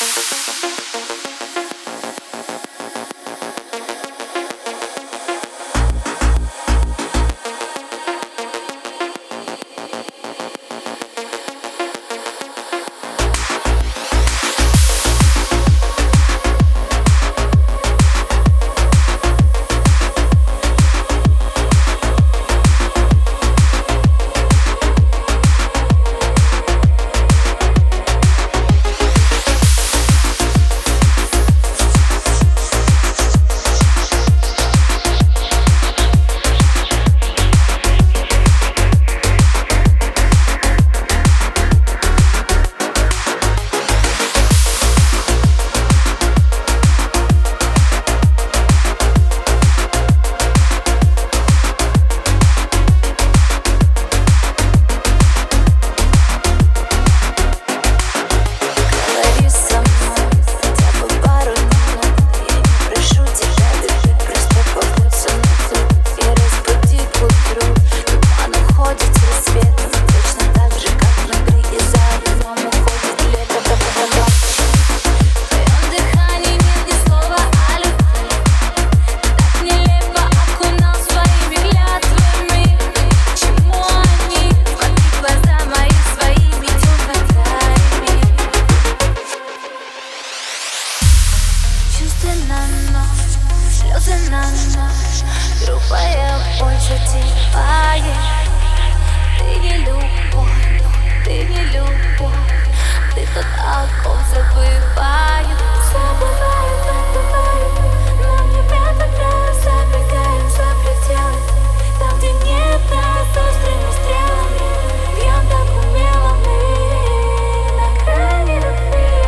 Слезы на ночь, грубая боль затихает. Ты не любовь, ты не любовь, ты тот, о ком забываю. Забываю, но мне предлагают, забегаем за пределы. Там, где нет нас острыми стрелами, бьем так умело мы на грани любви.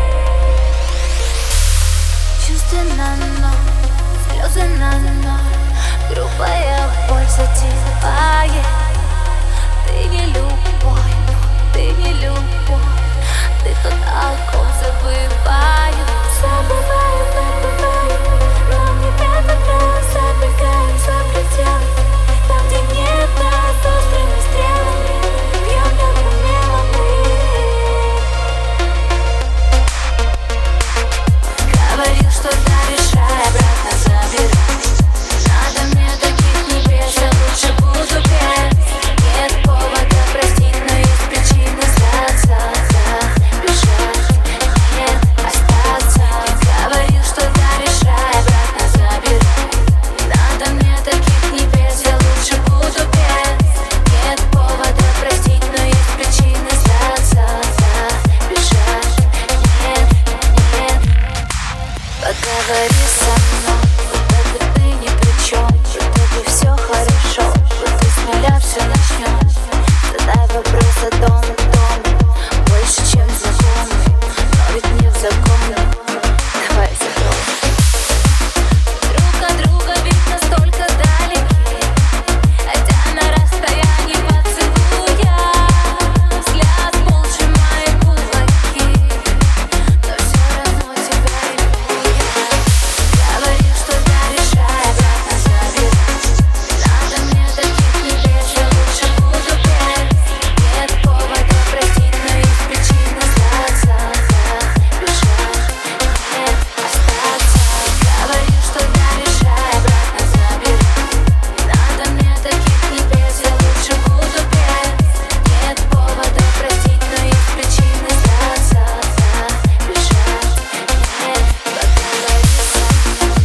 Чувства на ночь, слезы на ночь, грубая боль затихает. Ты не любовь, ты не любовь, ты тот, о ком забываю. Забываю, но мне предлагают, забегаем за пределы. Там, где нет нас острыми стрелами, бьем так умело мы. Говорил, что да, решай, обратно забирай. Надо мне таких небес, я лучше буду петь. Нет повода простить, но есть причины сдаться, бежать, нет, остаться. Ты говорил, что да, решай, обратно забирай. Надо мне таких небес, я лучше буду петь. Нет повода простить, но есть причины сдаться, бежать, нет. Поговори со мной, будто бы ты ни при чем, будто бы все хорошо, будто с нуля все начнем. Задай вопрос о доме, больше, чем знакомый, но ведь не в законе. Давай закроем. Друг от друга ведь настолько далеки, хотя на расстоянии поцелуя. Взгляд пол сжимает кулаки, но все равно тебя ревную я. Говорил, что да, решай, обратно забирай. Надо мне таких небес, я лучше буду петь. Нет повода простить, но есть причины сдаться, бежать, нет, остаться. Говорил, что да, решай, обратно забирай. Надо мне таких небес, я лучше буду петь. Нет повода простить, но есть причины сдаться, бежать, нет, поговори со мной.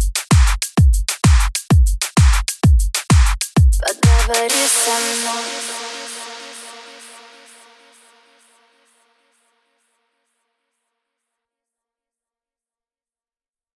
Поговори со мной.